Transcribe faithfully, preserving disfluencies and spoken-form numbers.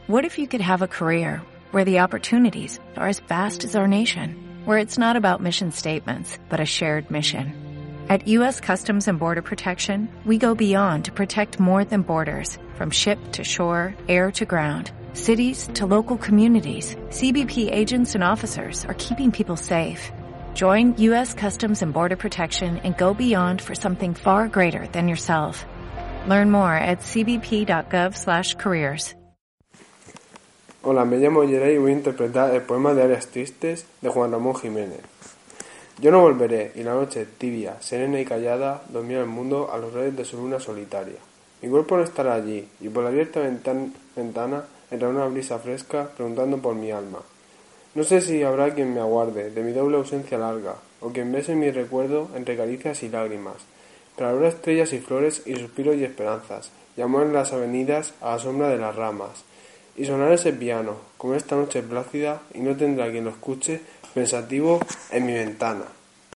What if you could have a career where the opportunities are as vast as our nation, where it's not about mission statements, but a shared mission? At U S Customs and Border Protection, we go beyond to protect more than borders, from ship to shore, air to ground, cities to local communities. C B P agents and officers are keeping people safe. Join U S Customs and Border Protection and go beyond for something far greater than yourself. Learn more at c b p dot gov slash careers. Hola, me llamo Yerey y voy a interpretar el poema de Áreas Tristes de Juan Ramón Jiménez. Yo no volveré, y la noche tibia, serena y callada, dormirá el mundo a los rayos de su luna solitaria. Mi cuerpo no estará allí, y por la abierta ventan- ventana entrará una brisa fresca preguntando por mi alma. No sé si habrá quien me aguarde de mi doble ausencia larga, o quien bese mi recuerdo entre caricias y lágrimas, pero habrá estrellas y flores y suspiros y esperanzas, y amor en las avenidas a la sombra de las ramas, y sonará ese piano, como esta noche plácida, y no tendrá quien lo escuche pensativo en mi ventana.